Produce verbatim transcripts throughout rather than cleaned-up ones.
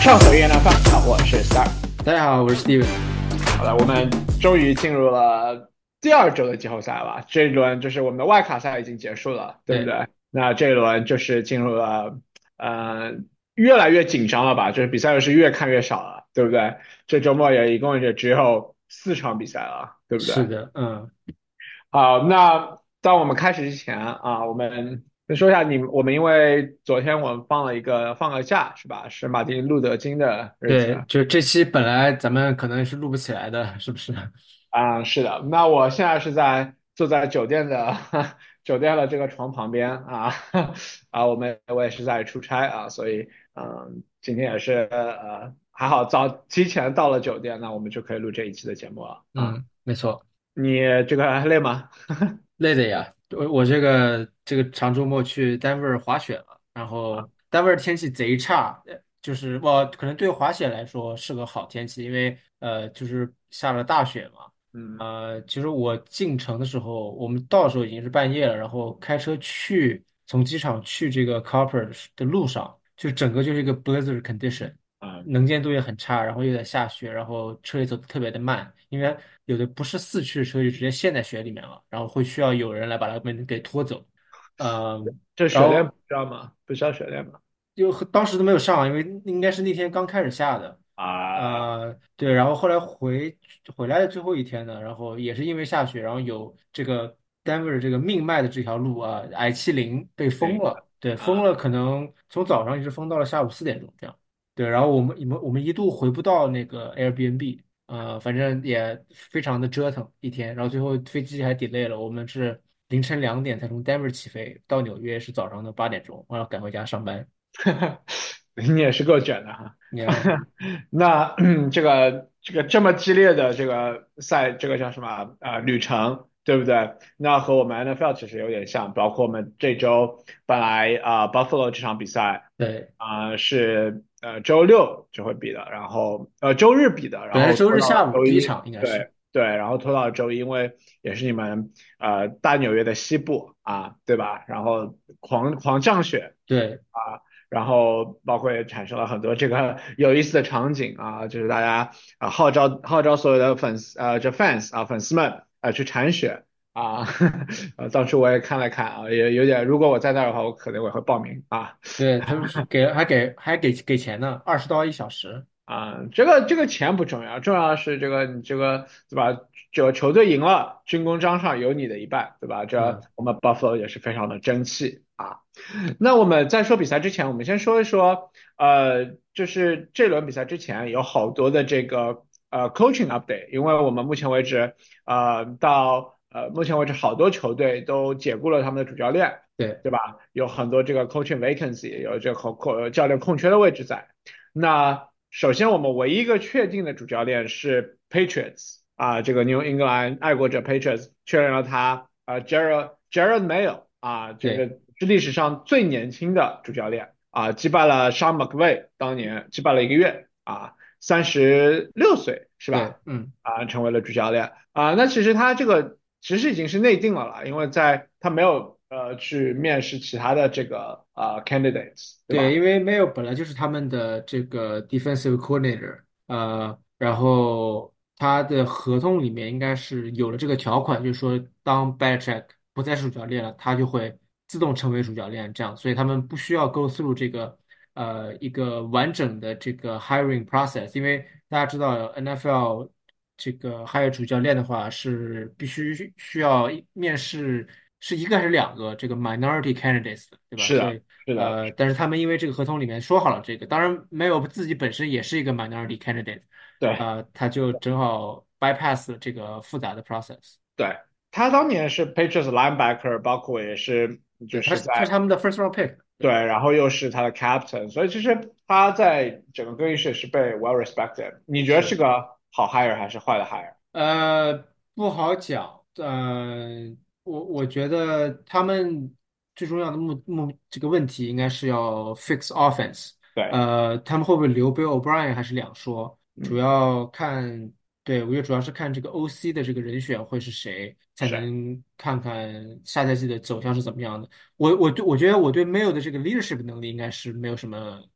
畅所欲言的范，我是 Star。 大家好，我是 Steven。 好了，我们终于进入了第二周的季后赛了。这一轮就是我们的外卡赛已经结束了，对不对对？那这一轮就是进入了呃越来越紧张了吧？就是比赛又是越看越少了，对不对？这周末也一共也只有四场比赛了，对不对？ 是的，嗯， 好，那当我们开始之前啊，我们先说一下你，我们因为昨天我们放了一个放个假是吧？是马丁路德金的日对， 子。 就这期本来咱们可能是录不起来的，是不是？ 啊，是的，那我现在是在坐在酒店的酒店的这个床旁边啊啊，我们我也是在出差啊，所以嗯，今天也是呃还好早提前到了酒店，那我们就可以录这一期的节目了啊。 嗯，没错， 你这个还累吗？ 累的呀。我我这个这个长周末去丹佛滑雪了，然后丹佛天气贼差，呃就是我可能对滑雪来说是个好天气，因为呃就是下了大雪嘛。 嗯， 呃，其实我进城的时候，我们到的时候已经是半夜了，然后开车去从机场去这个 Copper 的路上，就整个就是一个 blizzard condition。 啊， 能见度也很差，然后又在下雪，然后车也走得特别的慢，因为有的不是四驱的车就直接陷在雪里面了，然后会需要有人来把它们给拖走。嗯， 这雪链不然后知道吗？不需要雪链吗？ 就当时都没有上，因为应该是那天刚开始下的。 啊， 呃，对，然后后来回回来的最后一天呢，然后也是因为下雪，然后有这个 Denver 这个命脉的这条路啊，I 七零被封对了，对，封啊， 了，可能从早上一直封到了下午四点钟这样。对，然后我们我们我们一度回不到那个 Airbnb，呃，反正也非常的折腾一天，然后最后飞机还 delay 了，我们是凌晨两点才从 Denver 起飞，到纽约是早上的八点钟，我要赶回家上班。 你也是够卷的哈。 Yeah， 那这个这个这么激烈的这个赛，这个叫什么啊、呃旅程，对不对？那和我们 N F L 其实有点像，包括我们这周本来啊、呃 Buffalo 这场比赛对， 啊、是呃周六就会比的，然后呃周日比的，然本来是后拖到周日下午了周一， 第一场应该是。 对对，然后拖到了周一，因为也是你们呃大纽约的西部啊，对吧？然后狂狂降雪。 对， 啊。然后包括也产生了很多这个有意思的场景啊，就是大家啊号召号召所有的粉丝呃这 fans 啊粉丝们啊去铲雪啊，呃当时我也看了看啊，也有点，如果我在那儿的话，我可能我会报名啊。 对，他们是给还给还给给钱呢，二十刀一小时。 啊，这个这个钱不重要，重要的是这个你这个对吧？这个球队赢了，军功章上有你的一半，对吧？这嗯， 我们 Buffalo 也是非常的争气啊。那我们在说比赛之前，我们先说一说，呃，就是这轮比赛之前有好多的这个呃 coaching update，因为我们目前为止，呃，到呃目前为止好多球队都解雇了他们的主教练， 对对吧？有很多这个 coaching vacancy，有这个空空教练空缺的位置在。那首先我们唯一一个确定的主教练是 Patriots 啊，这个 New England 爱国者 Patriots 确认了他啊，Jared Jared Mayo 啊，这个对是历史上最年轻的主教练啊，击败了 Sean McVay，当年击败了一个月啊，三十六岁是吧？ 对，嗯， 啊，成为了主教练啊，那其实他这个其实已经是内定了啦，因为在他没有呃去面试其他的这个啊 candidates，对对， 吧？ 因为 Mayo 本来就是他们的这个 defensive coordinator，呃，然后他的合同里面应该是有了这个条款，就是说当 Belichick 不再是主教练了，他就会自动成为主教练，这样，所以他们不需要 go through 这个呃一个完整的这个 hiring process，因为大家知道 N F L 这个 hire 主教练的话是必须需要面试是一个还是两个这个 minority candidates，对吧？ 是的， 所以是的， 呃，但是他们因为这个合同里面说好了这个，当然没有自己本身也是一个 minority candidate， 对。 呃，他就正好 bypass 了这个复杂的 process。 对，他当年是 Patriots linebacker，包括也是就对，他是在是他是他们的 first round pick。 对， 对， 然后又是他的 captain，所以其实他在整个更衣室是被 well respected。你觉得是是。 个好 hire 还是坏的 hire？ 呃，不好讲。呃，我我觉得他们最重要的目目这个问题应该是要 fix offense。 对， 呃，他们会不会留 Bill O'Brien 还是两说，主嗯， 要看，对，我觉得主要是看这个 O C 的这个人选会是谁，才是， 能看看下赛季的走向是怎么样的。我我对我觉得我对 Mayo 的这个 leadership 能力应该是没有什么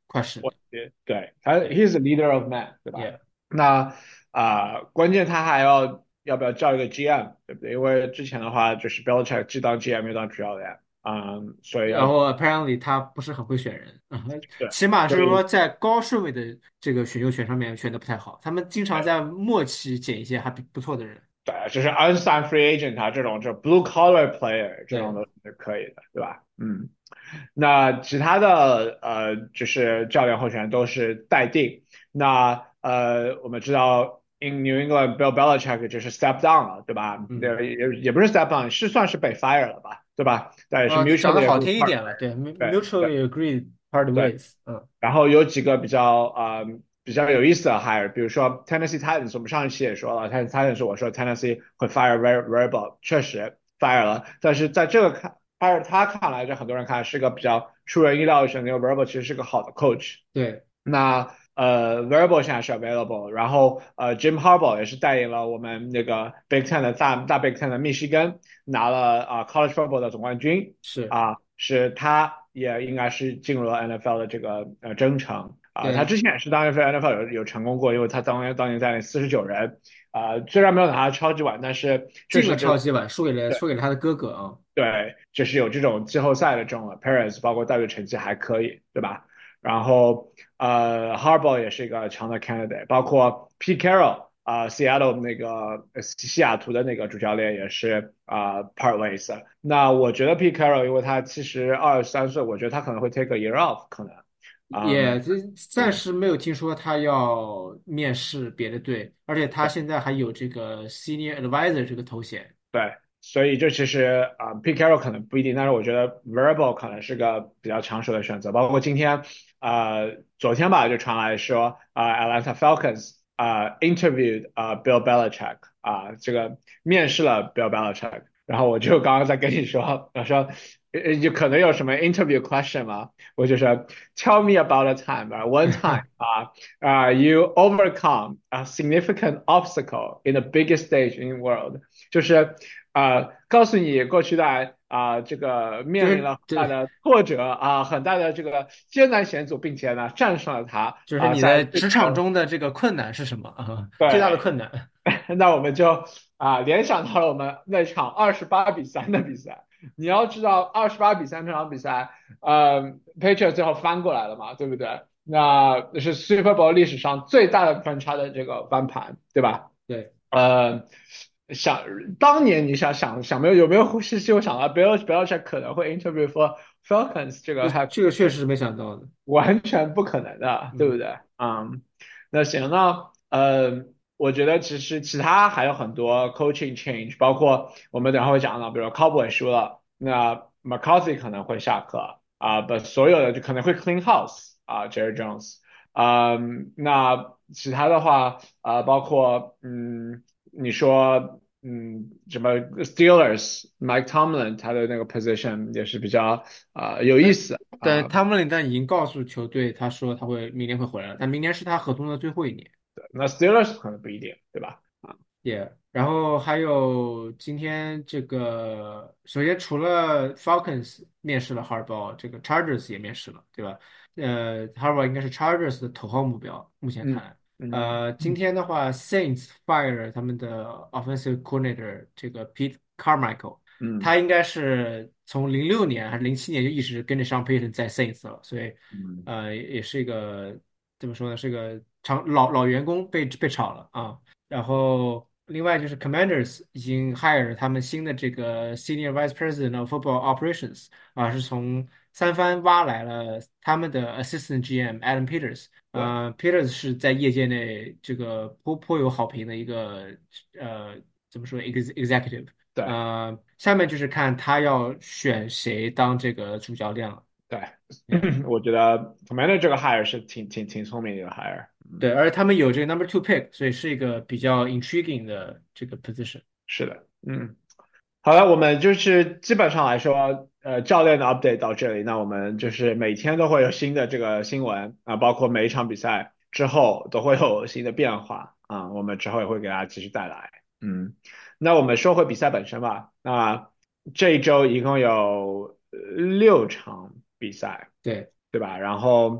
快十年。 我对对，他 he's the leader of man，对吧？ Yeah， 那啊、关键他还要要不要叫一个 G M，对不对？因为之前的话就是 Belichick 既当 G M 又当主教练，嗯，所以要然后 apparently 他不是很会选人，啊， 对， 起码是说所以在高顺位的这个选秀权上面选的不太好，他们经常在末期捡一些还不不错的人。 对，就是 unsigned free agent 啊这种，就 blue collar player 这种对， 都是可以的，对吧？嗯。那其他的呃，就是教练候选人都是待定。那呃，我们知道 in New England Bill Belichick 就是 step down 了，对吧？ 嗯， 对，也也不是 step down，是算是被 fire 了吧，对吧？但也是呃，讲的 mutually 好 agreed 听一 part， 点了，对对对 ，mutually agreed part 对。 ways，嗯， 然后有几个比较呃比较有意思的 hire，比如说 Tennessee Titans，我们上一期也说了，Tennessee Titans 我说 Tennessee 会 fire Ver Verbal，确实 fire 了，但是在这个看 fire 他看来，就很多人看是个比较出人意料的选择，因为 Verbal 其实是个好的 coach。 对， 那呃，Verbal 现在是 available，然后呃，Jim Harbaugh 也是带领了我们那个 Big Ten 的大大 Big Ten 的密西根拿了啊、College Football 的总冠军是， 啊、是他也应该是进入了 N F L 的这个呃征程啊、他对， 之前也是当 N F L 有有成功过，因为他当年当年带领四十九人啊、虽然没有拿到超级碗，但是确进了实这种。 超级碗，输给了输给了他的哥哥啊。 对，就是有这种季后赛的这种 appearance，包括带队成绩还可以，对吧？然后呃，Harbaugh 也是一个强的 candidate，包括 Pete Carroll 啊、s e a t t l e 那个呃西雅图的那个主教练也是啊、part ways。那我觉得 Pete Carroll，因为他其实二十三岁，我觉得他可能会 take a year off，可能，嗯， 也这暂对时没有听说他要面试别的队，而且他对。 现在还有这个 senior advisor 这个头衔。 对，所以这其实啊、p e t e Carroll 可能不一定，但是我觉得 Verbal 可能是个比较抢手的选择。包括今天，呃，昨天吧，就传来说，啊、Atlanta Falcons 啊、interviewed 啊、Bill Belichick 啊、这个面试了 Bill Belichick，然后我就刚刚在跟你说，我说呃有可能有什么 interview question 吗？我就说 Tell me about a time, uh, one time 啊、啊、you overcome a significant obstacle in the biggest stage in the world。就是呃，告诉你过去的啊、这个就面临了很大是对， 的挫折啊、很大的这个艰难险阻，并且呢战胜了它啊、 就是你在最的职场中的这个困难是什么啊？最大的对， 困难。 那我们就啊、联想到了我们那场二十八比三的比赛。你要知道，二十八比三这场比赛，呃，Patriots 最后翻过来了嘛，对不对？那是 Super Bowl 历史上最大的分差的这个翻盘，对吧？ 对， 呃，想当年你想想想没有有没有是就想到 Bill Belichick 可能会 interview for Falcons 这个这还这个确实是没想到的。 完全不可能的，对不嗯， 对？嗯，那行那呃，我觉得其实其他还有很多 coaching change，包括我们等会会讲到，比如 Cowboy 输了，那 McCarthy 可能会下课啊，不，所有的就可能会 clean house 啊，Jerry Jones。嗯，那其他的话，呃，包括嗯，你说嗯，什么 Steelers，Mike Tomlin 他的那个 position 也是比较啊、有意但思啊、 但汤姆林但已经告诉球队，他说他会明年会回来了，但明年是他合同的最后一年。 那 Steelers 可能不一定，对吧？ 也，然后还有今天这个，首先除了 Falcons 面试了 Harbaugh，这个 Chargers 也面试了，对吧？呃，Harbaugh 应该是 Chargers 的头号目标，目前看嗯来。 嗯呃，今天的话，Saints fire 他们的 offensive coordinator 这个 Pete Carmichael， 嗯他应该是从零六年还是零七年就一直跟着上 Payton 在 Saints 了，所以嗯， 呃也是一个怎么说呢，是个长老老员工被被炒了啊。然后另外就是 Commanders 已经 hire 他们新的这个 Senior Vice President of Football Operations 啊，是从三藩挖来了他们的 Assistant G M Adam Peters。 对呃，Peters 是在业界内这个颇颇有好评的一个呃怎么说 ex executive。 对呃，下面就是看他要选谁当这个主教练了。 对， Yeah。 我觉得 Commander 这个 hire 是挺挺挺聪明的一个 hire。嗯， 对，而且他们有这个 number two pick，所以是一个比较 intriguing 的这个 position。 是的，嗯。好了，我们就是基本上来说，呃，教练的 update 到这里，那我们就是每天都会有新的这个新闻啊，包括每一场比赛之后都会有新的变化啊，我们之后也会给大家继续带来。嗯，那我们说回比赛本身吧，那这一周一共有呃六场比赛， 对， 对吧？然后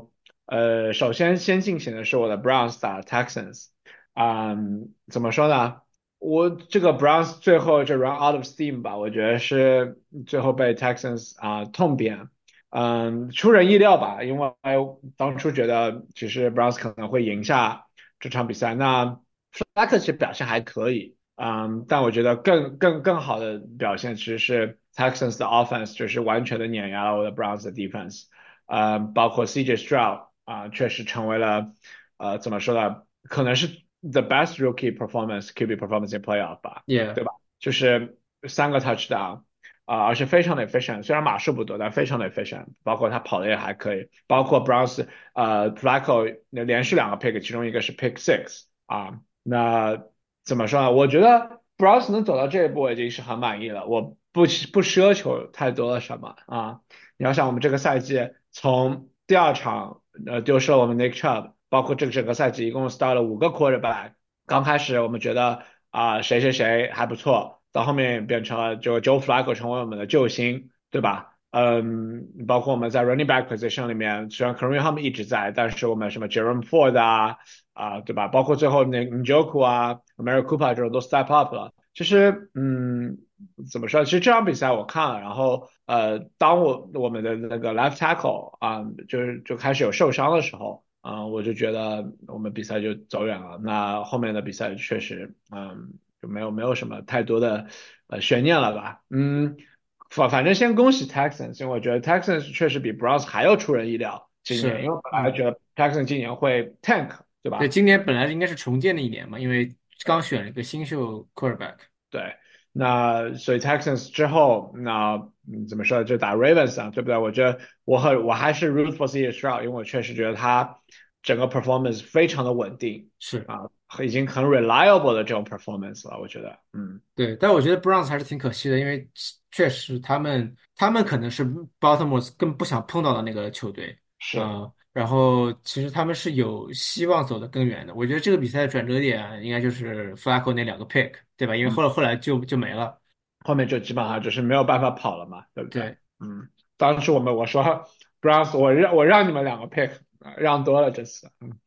呃，首先先进行的是我的 Browns 打 Texans，嗯，怎么说呢？我这个 Browns 最后就 run out of steam 吧，我觉得是最后被 Texans 啊、痛扁，嗯，出人意料吧，因为当初觉得其实 Browns 可能会赢下这场比赛，那 Flacco 其实表现还可以，嗯，但我觉得更更更好的表现其实是 Texans 的 offense，就是完全的碾压了我的 Browns 的 defense。呃，包括 C J Stroud 啊、确实成为了呃怎么说呢，可能是 the best rookie performance Q B performance in playoff 吧， ，Yeah， 对吧？就是三个 touchdown 啊、而且非常的 efficient，虽然码数不多，但非常的 efficient，包括他跑的也还可以，包括 Browns 呃 Flacco 连续两个 pick，其中一个是 pick six 啊，那怎么说呢？我觉得 Browns 能走到这一步已经是很满意了，我不不奢求太多的什么啊。你要想我们这个赛季从第二场呃丢失了我们 Nick Chubb，包括这个整个赛季一共 start 了五个 quarterback。刚开始我们觉得啊、谁谁谁还不错，到后面变成了就 Joe Flacco 成为我们的救星，对吧？嗯，包括我们在 running back position 里面，虽然 Kareem Hunt 一直在，但是我们什么 Jerome Ford 啊啊、对吧？包括最后那 Njoku 啊、Mary Cooper 这种都 step up 了。其实，嗯，怎么说？其实这场比赛我看了，然后呃，当我我们的那个 left tackle 啊、就是就开始有受伤的时候，啊、我就觉得我们比赛就走远了。那后面的比赛确实，嗯，就没有没有什么太多的呃悬念了吧？嗯，反反正先恭喜 Texans，因为我觉得 Texans 确实比 Browns 还要出人意料今年，因是， 为我本来嗯， 觉得 Texans 今年会 tank，对对， 吧？ 今年本来应该是重建的一年嘛，因为刚选了一个新秀 quarterback。 对，那所以 Texans 之后，那嗯怎么说就打 Ravens 啊，对不对？我觉得我很我还是 root for C J Stroud，因为我确实觉得他整个 performance 非常的稳定是。 啊，已经很 reliable 的这种 performance 了，我觉得，嗯， 对，但我觉得 Browns 还是挺可惜的，因为确实他们他们可能是 Baltimore 更不想碰到的那个球队是， 啊、然后其实他们是有希望走得更远的。我觉得这个比赛的转折点应该就是 Flacco 那两个 pick，对吧？因为嗯， 后来后来就就没了。 后面就基本上就是没有办法跑了嘛，对不对？ 对， 嗯，当时我们我说 Browns，我让我让你们两个 pick，啊让多了这次，嗯。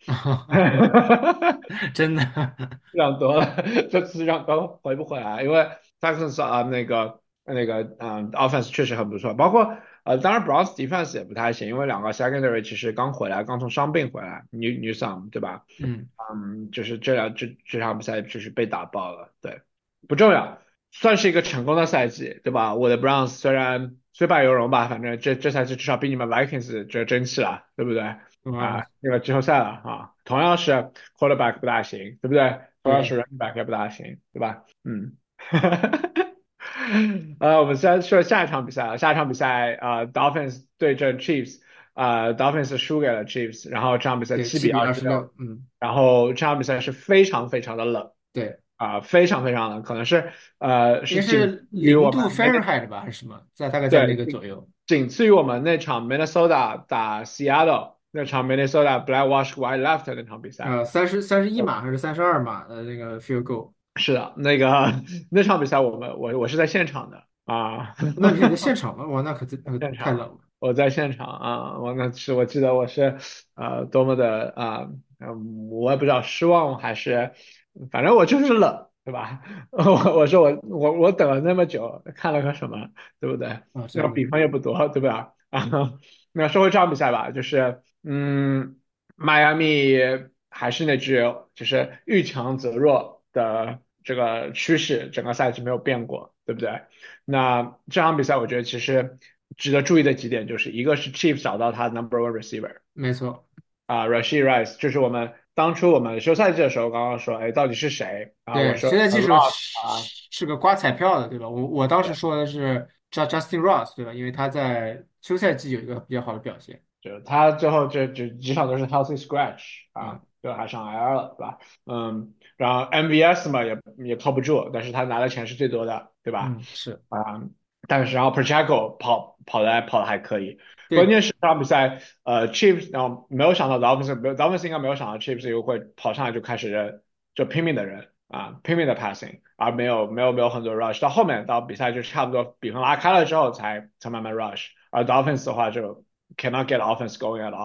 真的。 让多了，这次让多回不回来？因为 Texans 啊那个那个嗯 offense 确实很不错，包括呃当然 Browns defense 也不太行，因为两个 secondary 其实刚回来，刚从伤病回来，New Newsome 对吧？ 嗯， 嗯，就是这两这这场比赛就是被打爆了，对，不重要，算是一个成功的赛季，对吧？我的 Browns 虽然虽败犹荣吧，反正这这赛季至少比你们 Vikings 这争气了，对不对？ 哇， 啊，那个季后赛了啊，同样是 quarterback 不大行，对不对？同样是对 running back 也不大行，对吧？嗯。呃，我们先说下一场比赛啊，下一场比赛啊，Dolphins 对阵 Chiefs，啊，Dolphins 输给了 Chiefs，然后这场比赛对， 七七比比二十六， 二十六，嗯， 然后这场比赛是非常非常的冷对， 啊、非常非常冷，可能是呃应该是仅次是零度于我们 Fahrenheit 吧，还是什么，在大概在那对，仅个左右。 仅次于我们那场 Minnesota 打 Seattle 那场 Minnesota Black Wash White Left 那场比赛。 呃，三十三十一码还是三十二码的那个 field goal。 是的，那个那场比赛我们我我是在现场的啊， 那你还在现场吗？哇，那可真那可现场太冷了。 我在现场啊，我那是我记得我是呃多么的啊，嗯，我也不知道失望还是，反正我就是冷，对吧？我我说我我我等了那么久，看了个什么，对不对？ 啊， 那个真的。 比分也不多，对吧？啊，那说回这场比赛吧，就是嗯，迈阿密还是那句，就是遇强则弱的这个趋势，整个赛季没有变过，对不对？那这场比赛我觉得其实值得注意的几点就是，一个是 Chiefs 找到他 number one receiver 没错。 啊，Rashid Rice，就是我们当初我们休赛季的时候刚刚说，哎，到底是谁啊？我对， 说呃现在技术 Ross 啊， 是是个刮彩票的，对吧？我我当时说的是 J Justin Ross，对吧？因为他在休赛季有一个比较好的表现。 就他最后这这几场都是 healthy scratch 啊， 嗯最后还上 I R 了，对吧？嗯，然后 M V S 嘛也也靠不住，但是他拿的钱是最多的，对吧？ 嗯，是啊，但是然后 Pacheco 跑跑的跑的还可以，关对。 键是这场比赛呃 Chiefs 然后没有想到 Dolphins 没有 Dolphins 应该没有想到 Chiefs 又会跑上来就开始就拼命的人啊拼命的 passing，而没有没有没有很多 rush，到后面到比赛就差不多比分拉开了之后才才慢慢 rush，而 Dolphins 的话就 cannot get offense going at all。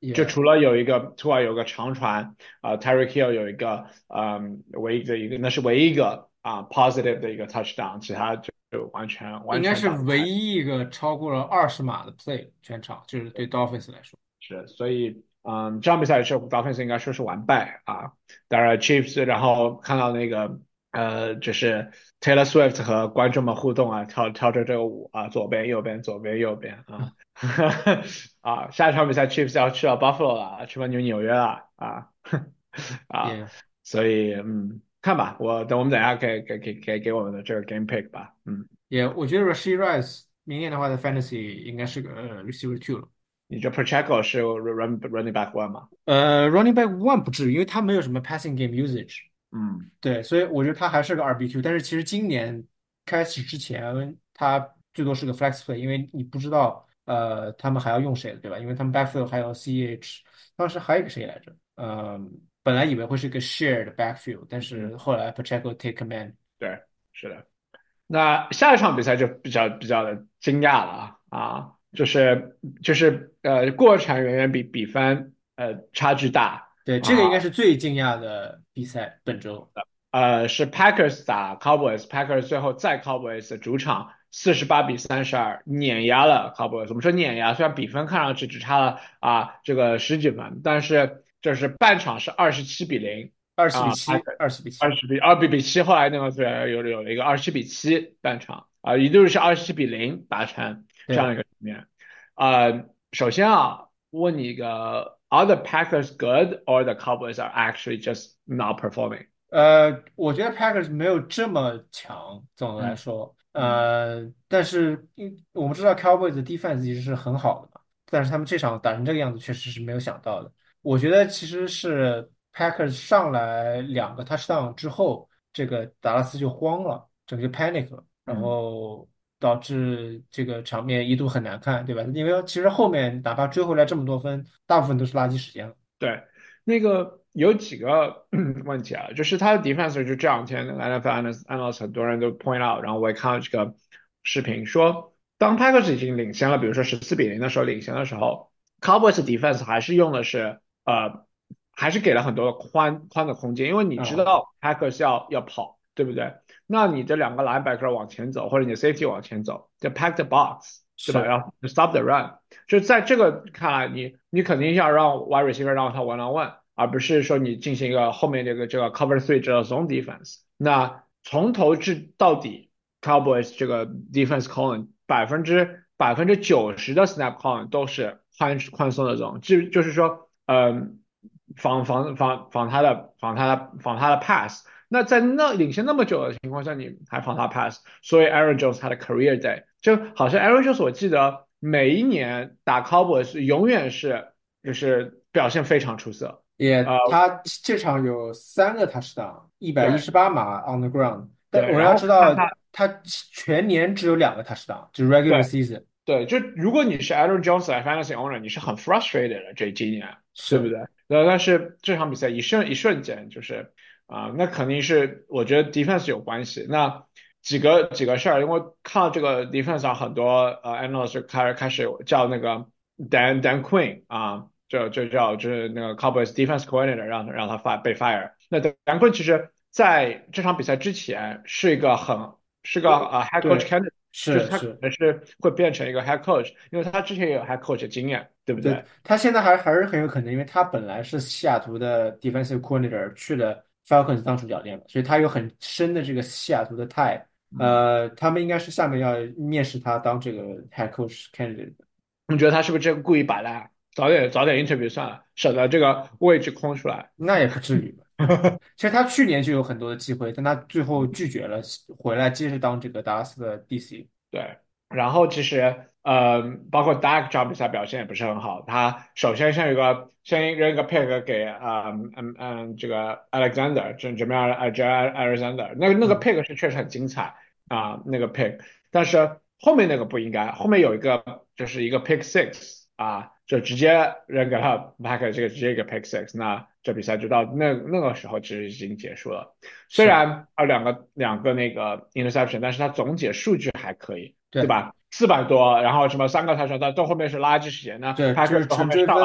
就也除了有一个突然有个长传啊、t y r e e k Hill 有一个嗯唯一的一个那是唯一一个啊、positive 的一个 touchdown，其他就就完全完应该是全打不开。 唯一一个超过了二十码的 play 全场，就是对 Dolphins 来说。 是，所以嗯，这场比赛是 Dolphins 应该说是完败啊。当然 Chiefs，然后看到那个呃，就是 Taylor Swift 和观众们互动啊，跳跳着这个舞啊，左边右边左边右边啊，啊，下一场比赛 Chiefs 要去到 Buffalo 了，去到纽纽约了啊啊， 也所以嗯，看吧，我等我们等一下给给给给给我们的这个 game pick 吧，嗯， 也，我觉得 Rashee Rice 明年的话在 Fantasy 应该是个呃 receiver two 了。 你这 Pacheco 是 run running back one 吗？ 呃，running back one 不至于，因为他没有什么 passing game usage。 嗯对，所以我觉得他还是个二 B Q。但是其实今年开始之前，他最多是个 flex play，因为你不知道呃他们还要用谁，对吧？因为他们 backfield 还有 C H，当时还有一个谁来着？嗯、本来以为会是个 shared backfield，但是嗯， 后来 Pacheco take command。 对，是的。那下一场比赛就比较比较的惊讶了啊，就是就是呃过程远远比比分呃差距大对，这啊， 个应该是最惊讶的比赛本周。 呃是 Packers 打 Cowboys，Packers 最后在 Cowboys 的主场四十八比三十二碾压了 Cowboys。我们说碾压，虽然比分看上去只差了啊这个十几分，但是就是半场是二十七比零二十比啊七，二十比七。 二十比二比比七，后来那个对有有了一个二十七比七半场啊，一度是二十七比零达成这样对。 一个局面。呃，首先啊，问你一个，Are the Packers good or the Cowboys are actually just not performing？ 呃，我觉得 Packers 没有这么强，总的来嗯说， 嗯呃，但是因我们知道 Cowboys 的 defense 其实是很好的嘛，但是他们这场打成这个样子，确实是没有想到的。我觉得其实是 Packers 上来两个 touchdown 之后，这个达拉斯就慌了，整个 panic 了，然嗯。 后导致这个场面一度很难看，对吧？因为其实后面哪怕追回来这么多分，大部分都是垃圾时间了。 对，那个有几个问题啊，就是他的 defense 就这两天那个 N F L analyst analyst 很多人都 point out，然后我也看到这个视频说，当 Packers 已经领先了，比如说十四比零的时候领先的时候，Cowboys defense 还是用的是呃，还是给了很多宽宽的空间，因为你知啊， 道 Packers 要要跑，对不对？那你这两个 linebacker 往前走，或者你的 safety 往前走，就 pack the box，对吧？ 是。 要 stop the run。就在这个看来，你你肯定要让 wide receiver 让他 one on one，而不是说你进行一个后面这个这个 cover three 这个 zone defense。那从头至到底，Cowboys 这个 defense calling 百分之百分之九十的 snap calling 都是宽宽松的 zone，就就是说，嗯，防防防防他的防他的防他的 pass。那在那领先那么久的情况下，你还防他 pass，所以 Aaron Jones 他的 career day 就好像 Aaron Jones 我记得每一年打 Cowboys 永远是就是表现非常出色，呃， 也，他这场有三个 touchdown，一百一对十八码 on the ground。但对， 我们然后要知道， 看他他全年只有两个 touchdown，就是 regular 对 season。 对，就如果你是 Aaron Jones 来 fantasy owner，你是很 frustrated 的这今年，对不是。 对？呃，但是这场比赛一瞬一瞬间就是啊、那肯定是我觉得 defense 有关系。那几个几个事儿，因为看到这个 defense 上很多呃 analyst 开开始叫那个 Dan Dan Quinn 啊，就就叫就是那个 Cowboys defense coordinator 让让他 f 被 fire。那 Dan Quinn 其实在这场比赛之前是一个很是个对呃 head coach 对， candidate。就是他可是是。 能是会变成一个 head coach，因为他之前也有 head coach 的经验，对不对， 对？ 他现在还还是很有可能，因为他本来是西雅图的 defensive coordinator，去了 Falcons 当主教练嘛，所以他有很深的这个西雅图的 tie。 嗯， 呃，他们应该是下面要面试他当这个 head coach candidate。 你觉得他是不是这个故意摆烂？早点早点 interview 算了，省得这个位置空出来。 那也不至于吧。其实他去年就有很多的机会，但他最后拒绝了，回来接着当这个达拉斯的 D C。 对，然后其实呃，包括 Dak 这场比赛表现也不是很好。他首先先有一个先扔一个 pick 给呃嗯嗯这个 Alexander，这这边呃这 Alexander，那个那个嗯， pick 是确实很精彩啊、那个 pick，但是后面那个不应该，后面有一个就是一个 pick six 啊，就直接扔给了 Pack 这个直接一个 pick six，那这比赛就到那那个时候其实已经结束了。虽是。 然啊两个两个那个 interception，但是他总体数据还可以，对对吧？四百多，然后什么三个 touchdown，到到后面是垃圾时间，那对，就 Packers 是纯后面上了追分嘛。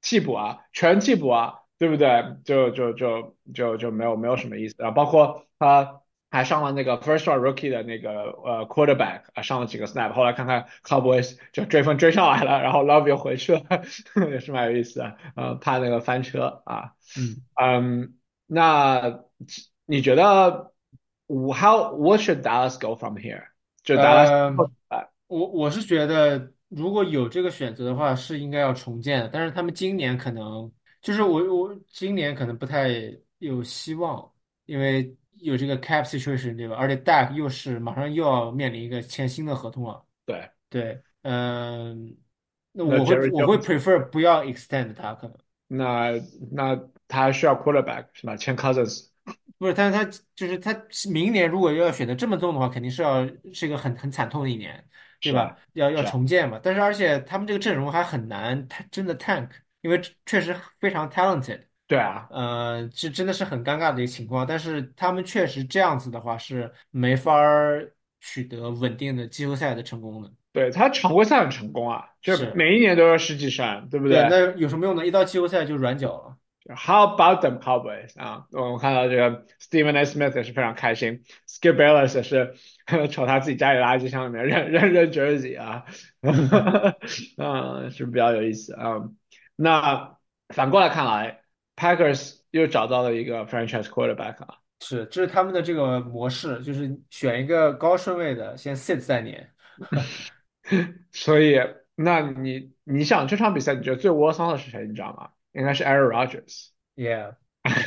替补啊，全替补啊，对不对？就就就就就没有没有什么意思啊。包括他还上了那个 first round rookie 的那个呃 quarterback 啊，上了几个 snap，后来看看 Cowboys 就追分追上来了，然后 Love 又回去了，也是蛮有意思的。呃，怕那个翻车啊。 嗯， 嗯，那你觉得 how what should Dallas go from here？就达拉斯呃， 后怎么办？ 我我是觉得，如果有这个选择的话，是应该要重建的。但是他们今年可能就是我我今年可能不太有希望，因为有这个 cap situation，对吧？而且 Dak 又是马上又要面临一个签新的合同了。 对， 对，嗯，那那我会 Jerry 我会 Jones， prefer 不要 extend 他可能。 那那他还需要 quarterback 是吧？签 Cousins 不是，但是他就是他明年如果要选择这么重的话，肯定是要是一个很很惨痛的一年，对吧？ 是啊要要是啊， 重建嘛。但是而且他们这个阵容还很难，他真的 tank，因为确实非常 talented， 对啊， 呃，这真的是很尴尬的一个情况。但是他们确实这样子的话是没法儿取得稳定的季后赛的成功的。 对他常规赛很成功啊，就是， 每一年都有十几胜，对不对， 对那有什么用呢？一到季后赛就软脚了。 ？How about them Cowboys 啊？我看到这个 Stephen A. Smith 也是非常开心，Skip Bayless 也是瞅他自己家里垃圾箱里面扔扔扔 jersey 啊，嗯，是比较有意思啊。那反过来看来，Packers 又找到了一个 franchise quarterback 啊。 是，这是他们的这个模式，就是选一个高顺位的，先 sit 三年。 所以，那你你想这场比赛你觉得最窝桑的是谁？你知道吗？应该是 Aaron Yeah，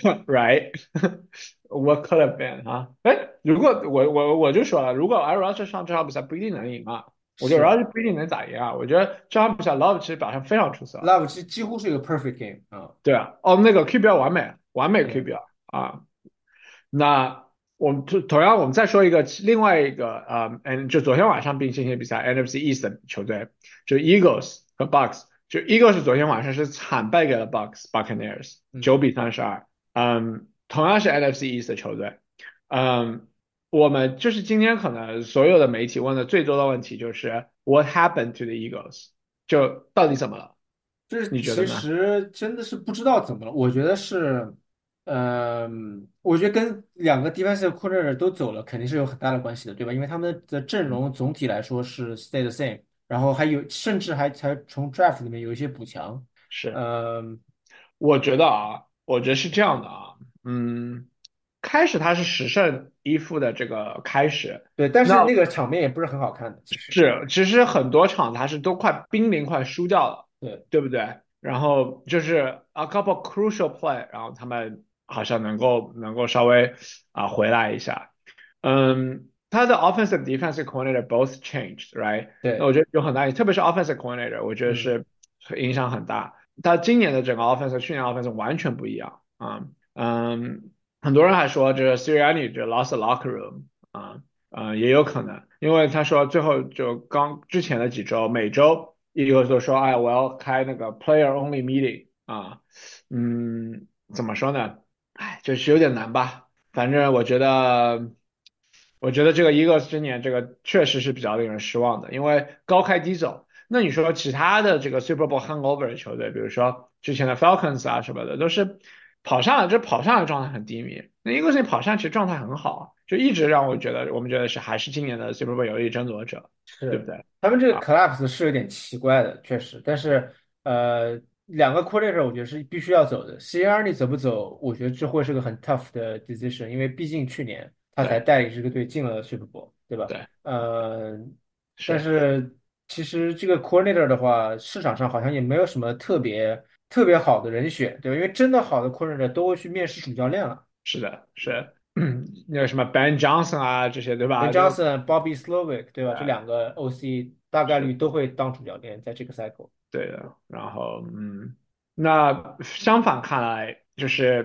Rodgers，right？What could have been 啊？哎，如果我我我就说了，如果 Aaron Rodgers 上这场比赛不一定能赢啊，我觉得是 Rodgers 不一定能咋赢啊。我觉得这场比赛 Love 其实表现非常出色。 ，Love 几几乎是一个 perfect game 啊。 对啊，哦，那个 Q B R 完美，完美对， Q B R 啊。那我们同同样，我们再说一个另外一个呃，嗯，就昨天晚上并进行比赛 N F C East 的球队，就 Eagles 和 Bucks。就 Eagles 昨天晚上是惨败给了 Bucks Buccaneers 嗯， 九比三十二。嗯，同样是 N F C East 的球队。嗯，我们就是今天可能所有的媒体问的最多的问题就是 What happened to the Eagles？就到底怎么了？ 这其你觉得呢？ 实真的是不知道怎么了。我觉得是，嗯、我觉得跟两个 defensive coordinator 都走了，肯定是有很大的关系的，对吧？因为他们的阵容总体来说是 stay the same，然后还有甚至还才从 draft 里面有一些补强。 是。 嗯、 我觉得啊，我觉得是这样的啊，嗯，开始他是十胜一负的这个开始， 对，但那是那个场面也不是很好看的，其实。 是其实很多场他是都快濒临快输掉了， 对， 对不对？然后就是 a couple crucial play，然后他们好像能够能够稍微啊回来一下，嗯，他的 offensive defensive coordinator both changed，right？那对， 我觉得有很大，特别是 offensive coordinator，我觉得嗯。 是影响很大。他今年的整个 offense 和去年 offense 完全不一样啊，嗯，很多人还说这 Sirianni 这 lost the locker room 啊，嗯，也有可能，因为他说最后就刚之前的几周，每周一个都说，哎，我要开那个 player only meeting 啊，嗯，怎么说呢？哎，就是有点难吧。反正我觉得，我觉得这个 Eagles 今年这个确实是比较令人失望的，因为高开低走。那你说其他的这个 Super Bowl hangover 的球队，比如说之前的 Falcons 啊什么的，都是跑上来，这跑上来状态很低迷。那 Eagles 跑上其实状态很好，就一直让我觉得，我们觉得是还是今年的 Super Bowl 有力争夺者，对不是， 对？ 他们这个啊， collapse 是有点奇怪的，确实，但是呃，两个 coordinator 我觉得是必须要走的。C R 你走不走，我觉得这会是个很 tough 的 decision，因为毕竟去年他才对带领这个队进了 Super Bowl，对吧？ 对呃，但是是其实这个 coordinator 的话，市场上好像也没有什么特别特别好的人选，对吧？因为真的好的 coordinator 都会去面试主教练了。 是的是，那个什么 Ben Johnson 啊这些对 Ben 吧？就 Johnson、Bobby Slowick，对吧？这啊两个 O C 大概是。 率都会当主教练，在这个 cycle。 对的，然后嗯，那相反看来就是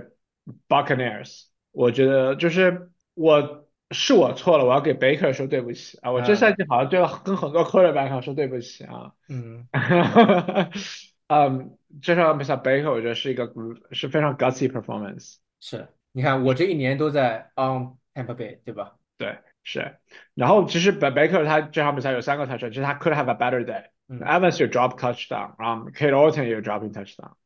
Buccaneers，我觉得就是我是我错了，我要给 Baker 说对不起啊，我这赛啊， 季好像对了跟很多 quarterback 说对不起啊， 嗯， 嗯，这场比赛 Baker 我觉得是一个是非常 gutsy performance， 是，你看我这一年都在 on Tampa Bay，对吧？ 对，是，然后其实 Ba- Baker 他这场比赛有三个 touchdown，其实他 could have a better day。 嗯， Evans 有 drop touchdown，然后 Kate Orton 也有 dropping touchdown。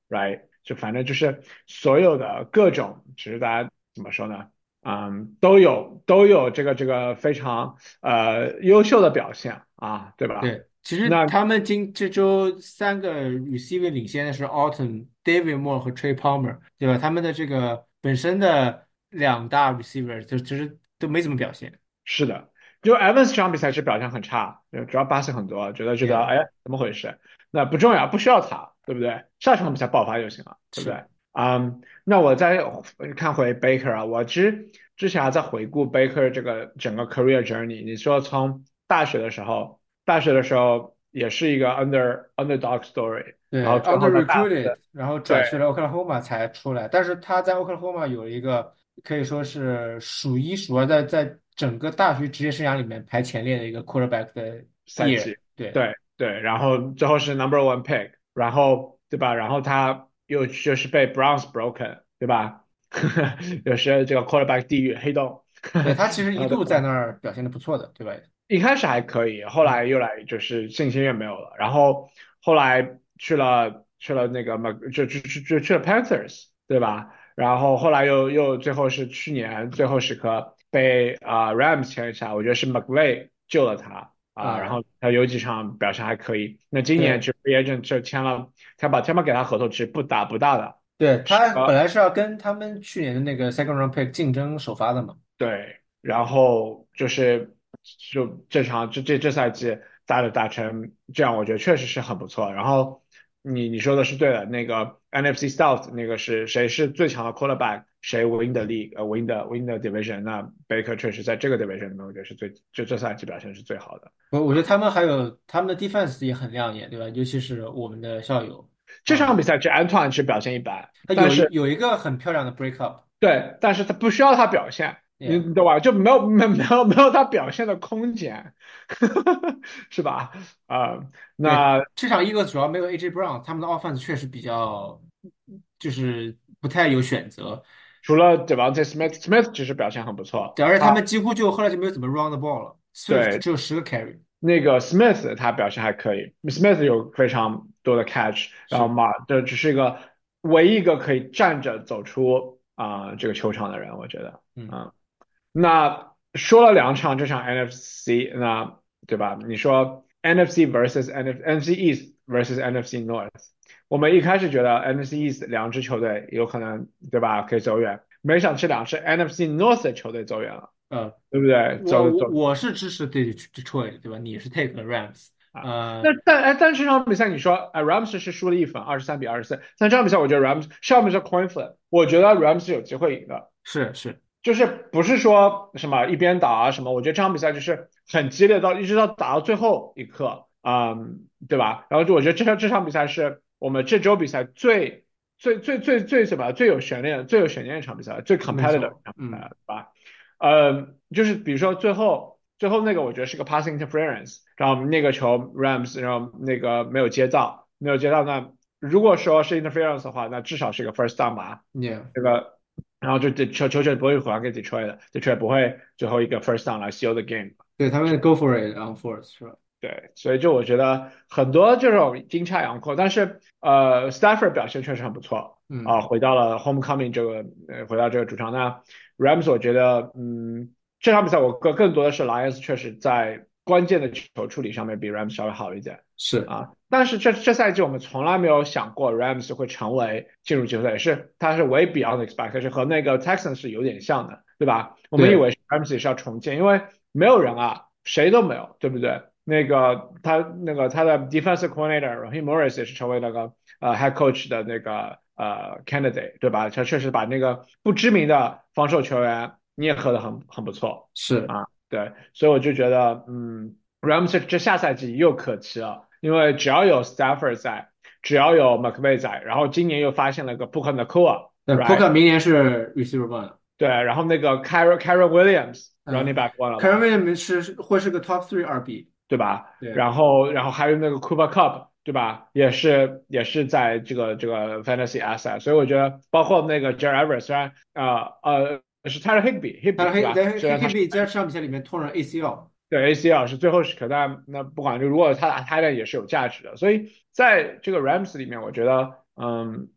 ，right？就反正就是所有的各种，其实大家怎么说呢？嗯，都有都有这个这个非常呃优秀的表现啊，对吧？ 对，其实那他们今这周三个 receiver 领先的是 Alton、David Moore 和 Trey Palmer，对吧？他们的这个本身的两大 receiver 就其实都没怎么表现。 是的，就 Evans 这场比赛是表现很差，就主要 pass 很多，觉得觉得 Yeah， 哎怎么回事？那不重要，不需要他，对不对？下场比赛爆发就行了，对不是。 对？嗯，那我再看回 Baker 啊，我其实之前还在回顾 Baker 这个整个 career journey。你说从大学的时候，大学的时候也是一个 under underdog story，然对后最 ，under 后在大 recruited，然后转对去了 Oklahoma 才出来，但是他在 Oklahoma 有一个可以说是数一数二在在整个大学职业生涯里面排前列的一个 quarterback 的赛 year。 季， 对对对，然后最后是 number one pick，然后对吧？然后他又就是被 Browns broken，对吧？有时这个 quarterback 地狱黑洞， 对，他其实一度在然后对吧？ 那儿表现的不错的，对吧？ 一开始还可以，后来嗯又来就是信心也没有了，然后后来去了去了那个 Mc 就就就就去了 Panthers，对吧？然后后来又又最后是去年最后时刻被啊、Rams 签下，我觉得是 McVay 救了他啊、然啊， 后他有几场表现还可以。那今年对就 free agent 就签了，他把他们给他合同其实不大不大的， 对，他本呃来是要跟他们去年的那个 second round pick 竞争首发的嘛。 对，然后就是就这场这这这赛季打的打成这样，我觉得确实是很不错。然后你你说的是对的，那个 N F C South 那个是谁是最强的 quarterback，谁 win the league，呃 win the win the division，那 Baker 确实在这个 division 里面，我觉得是最就这赛季表现是最好的。 我我觉得他们还有他们的 defense 也很亮眼，对吧？尤其是我们的校友啊， 这场比赛其实 Antoine 是表现一般， 他有一但是有一个很漂亮的 break up。 对，但是他不需要他表现，你 Yeah。 你懂吧？就没有没没有没有他表现的空间，是吧？啊、 对， 那这场一个主要没有 A J Brown，他们的 offense 确实比较就是不太有选择。 除了 Devontae Smith，Smith 其实表现很不错对，而且他啊， 们几乎就后来就没有怎么 run the ball 了，Swift 对， 只有十个 carry。 那个 Smith 他表现还可以，Smith 有非常多的 catch，然后是。 马这只是一个唯一一个可以站着走出啊、这个球场的人，我觉得， 嗯。 嗯。那说了两场这场 N F C，那对吧？你说 N F C versus N F N F C East versus N F C North，我们一开始觉得 N F C East 两支球队有可能对吧可以走远，没想这两支 N F C North 的球队走远了， 呃， 对不对？ 我我走走我是支持对 Detroit，对吧？你是 take 了 Rams。 啊。那呃， 但哎，但这场比赛你说，哎，Rams 是输了一分，二十三比二十四。但这场比赛我觉得 Rams 上面是 coin flip，我觉得 Rams 有机会赢的。 是是。 就是不是说什么一边倒啊什么，我觉得这场比赛就是很激烈到一直到打到最后一刻，嗯，对吧？然后就我觉得这场这场比赛是我们这周比赛最最最最最什么最有悬念最有悬念的一场比赛，最没 competitive 的错。 一场比赛嗯。 了，对吧？呃，就是比如说最后最后那个我觉得是个 passing interference，然后那个球 Rams 然后那个没有接到，没有接到，那如果说是 interference 的话，那至少是一个 first down 吧。 Yeah。 这个然后就这球球权不会还给 Detroit 的，Detroit 不会最后一个 first down 来 seal the game。 对他们 go for it on fourth 是吧？ 对，所以就我觉得很多这种阴差阳错，但是呃，Stafford 表现确实很不错嗯。 啊，回到了 homecoming 这个呃，回到这个主场。那 Rams 我觉得嗯，这场比赛我更更多的是 Lions 确实在关键的球处理上面比 Rams 稍微好一点。 是。 啊，但是这这赛季我们从来没有想过 Rams 会成为进入季后赛，也是它是 way beyond expectation，和那个 Texans 是有点像的，对吧？我们以对。 为 Rams 也是要重建，因为没有人啊，谁都没有，对不对？那个他那个他的 defensive coordinator Raheem Morris 也是成为那个呃 head coach 的那个呃 candidate，对吧？他确实把那个不知名的防守球员捏合的很很不错是。 啊，对，所以我就觉得嗯，Rams 这这下赛季又可期了。因为只要有 Stafford 在，只要有 McVay 在，然后今年又发现了个 Puka Nacua，right？ 对 p o k a 明年是 receiver one。 对，然后那个 Kyron Kyron Williams running 嗯 back one 了 k a r e 吧， n Williams 是会是个 top three R B。 对吧？ 对然后然后还有那个 Cooper Cup，对吧？也是也是在这个这个 fantasy asset，所以我觉得包括那个 Jared Everett，虽然呃呃是 Tyler Higby 他 Higby 对吧？ 黑在虽然他是 Higby 在这场比赛里面突了 A C L。 对 A C L 是最后时刻，但那不管就如果他打 t i 也是有价值的，所以在这个 Rams 里面，我觉得嗯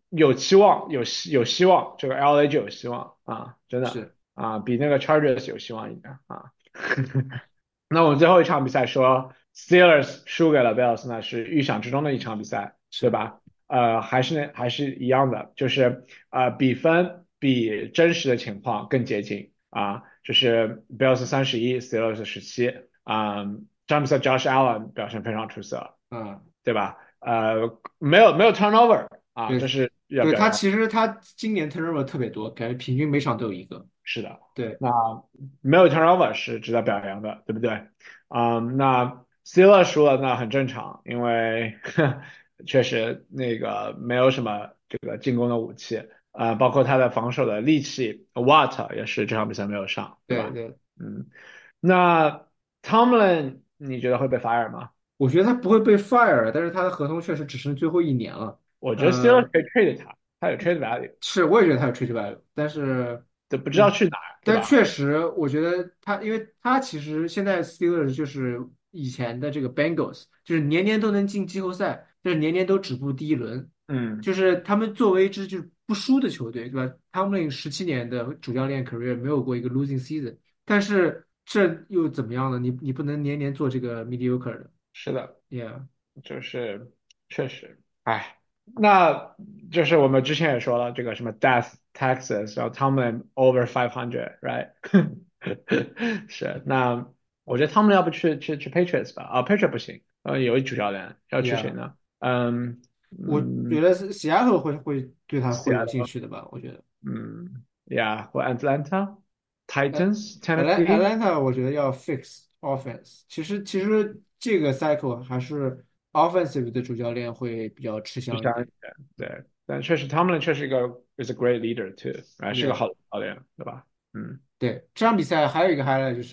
有期望，有希有希望，这个 L A 就有希望啊，真的是啊，比那个 Chargers 有希望一点啊。那我们最后一场比赛说 Steelers 输给了 Bills，那是预想之中的一场比赛，对是， 吧？呃，还是那还是一样的，就是呃比分比真实的情况更接近啊，就是 Bills 三十一，Steelers 十七啊，詹姆斯 Josh Allen 表现非常出色， 嗯， 对吧？呃，没有没有 turnover 啊，这对是要对， 表扬。 他其实他今年 turnover 特别多，感觉平均每场都有一个。 是的， 对那没有 turnover 是值得表扬的，对不对？嗯，那 Steelers 输了那很正常，因为确实那个没有什么这个进攻的武器，呃，包括他的防守的利器 Watt 也是这场比赛没有上，对吧？ 对对， 嗯，那 Tomlin 你觉得会被 fire 吗？ 我觉得他不会被 fire，但是他的合同确实只剩最后一年了。 我觉得 Steelers 呃， 可以 trade 他，他有 trade value， 是，我也觉得他有 trade value，但是， 就不知道嗯， 去哪儿，对但吧？ 确实，我觉得他，因为他其实现在 Steelers 就是以前的这个 Bengals，就是年年都能进季后赛，就是年年都止步第一轮， 嗯， 就是他们作为一支就是不输的球队，对吧？他们十七年的主教练 career 没有过一个 losing season，但是这又怎么样呢？你你不能年年做这个 mediocre 的是的。 ，yeah。 就是确实，哎，那就是我们之前也说了，这个什么 Death Texas，然后他们 over five hundred，right？是，那我觉得他们要不去去去 Patriots 吧？啊，Patriots 不行，呃，有一主教练要去谁 Yeah， 呢？嗯我觉嗯得是 Seattle 会会对他会有兴 ，Seattle， 趣的吧？我觉得， 嗯，Yeah，或 Atlanta、 呃 Titans、 ，Atl Tennessee。 Atlanta 我觉得要 fix offense。其实其实这个 cycle 还是 offensive 的主教练会比较吃就像香一点。 对，但确实他们确实一个 is a great leader too，啊，是个 Yeah， 好的教练，对吧？嗯。 对，这场比赛还有一个 highlight 就是，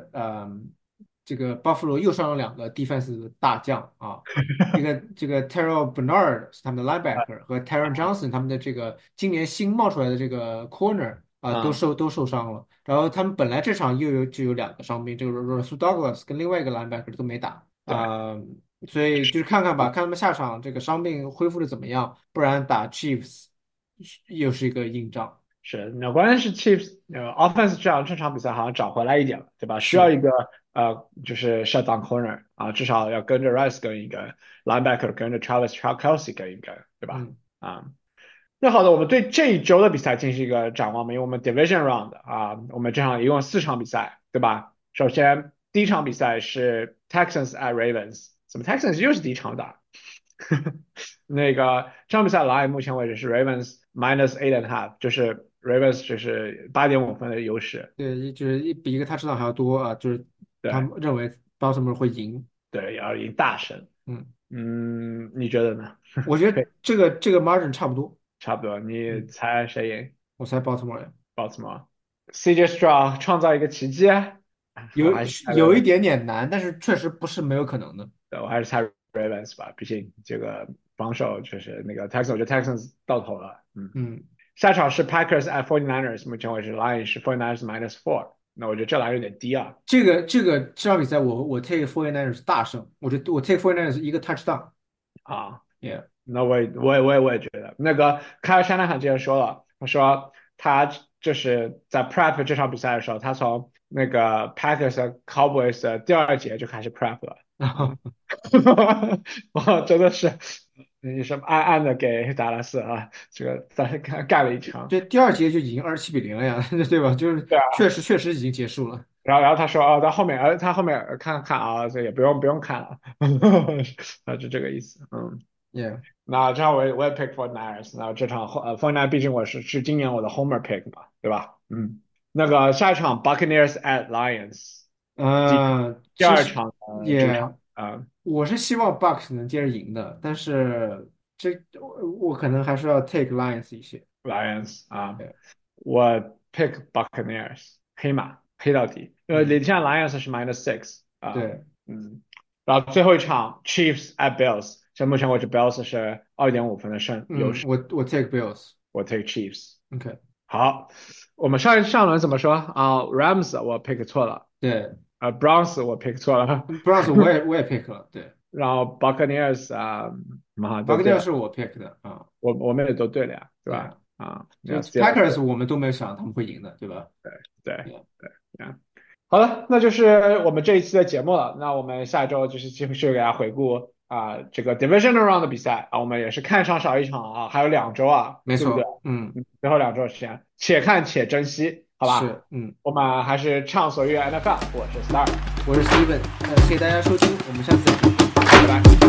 嗯，这个 Buffalo 又上了两个 defense 的大将啊，一个这个 Terrell Bernard 是他们的 linebacker 和 Taron Johnson 他们的这个今年新冒出来的这个 corner 啊，都啊， 受都受伤了。然后他们本来这场又有就有两个伤病，这个 Russell Douglas 跟另外一个 linebacker 都没打对， 啊，所以就是看看吧，看他们下场这个伤病恢复的怎么样，不然打 Chiefs 又是一个硬仗。 是，那关键是 Chiefs 呃 offense 这样这场比赛好像找回来一点了，对吧？需要是， 一个呃就是 shut down corner 啊，至少要跟着 Rice 跟一个 linebacker 跟着 Travis Kelce 跟一个，对吧？ 嗯。 啊，那好的，我们对这一周的比赛进行一个展望吧，因为我们 division round 啊，我们这场一共四场比赛，对吧？首先第一场比赛是 Texans at Ravens，怎么 Texans 又是第一场打？那个这场比赛 line 目前为止是 Ravens minus eight and a half，就是 Ravens 就是八点五分的优势。 对，一就是一比一个他知道还要多啊，就是他对们认为 Baltimore 会赢。 对，要赢大胜。 嗯， 嗯，你觉得呢？ 我觉可以， 得这个这个 margin 差不多。 差不多。你嗯， 猜谁赢我猜 Baltimore 赢 ？Baltimore？C J Stroud 创造一个奇迹？ 有我还是猜有一 Ravens， 点点难，但是确实不是没有可能的。 对我还是猜 Ravens 吧，毕竟这个防守就是那个 Texans，我觉得 Texans 到头了。嗯， 嗯， 下场是 Packers at forty-niners，目前为止 line 是 forty-niners minus four，那我觉得这 line 有点低啊。 这个这个这场比赛我我 take forty-niners 大胜，我觉得我 take forty-niners 一个 touchdown。 啊， Yeah， 那我也我也我也我也觉得，那个凯尔山纳汉之前说了，他说他就是在 prep 这场比赛的时候，他从那个 Packers 和 Cowboys 的第二节就开始 prep 了， 然后嗯，哇，真的是你什么暗暗的给达拉斯啊，这个在干干了一场， 这第二节就已经二十七比零了呀，对吧？就是对啊， 确实确实已经结束了。 然后然后他说哦，到后面呃他后面呃看看啊，这也不用不用看了，啊就这个意思，嗯。 Yeah， 那这样我也我也 pick for Niners，那这场呃 for Niners 毕竟我是是今年我的 homer pick 嘛，对吧？嗯，那个下一场 Buccaneers at Lions，第嗯，其实第二场呃主场也。 啊、 我是希望 Bucks 能接着赢的，但是这我我可能还是要 take Lions 一些。 Lions 啊、 对我 pick Buccaneers 黑马黑到底，因为嗯， 领先 Lions 是 minus six 啊、 对， 嗯，然后最后一场 Chiefs at Bills，现在目前为止 Bills 是二点五分的胜优嗯， 势， 我我 take Bills。 我 take Chiefs。 OK， 好，我们上一上轮怎么说啊？Rams 我 pick 错了， 对呃，Browns 我 pick 错了， ，Browns 我也我也 pick 了。对然后 Buccaneers 啊，妈巴克利都对了， 是我 pick 的啊， 我我们也都对了呀，对吧？ 对啊， 啊，没就有 Packers Steelers， 我们都没有想他们会赢的，对吧？ 对对啊， 对啊。好了，那就是我们这一期的节目了。那我们下周就是继续给大家回顾啊、这个 Divisional Round 的比赛啊，我们也是看上少一场啊，还有两周啊，对不对？ 没错，嗯， 嗯，最后两周的时间，且看且珍惜，好吧？ 是，嗯， 我们还是畅所欲言 N F L，我是 Star， 我是 Steven，呃，谢谢大家收听，我们下次再见。 拜拜。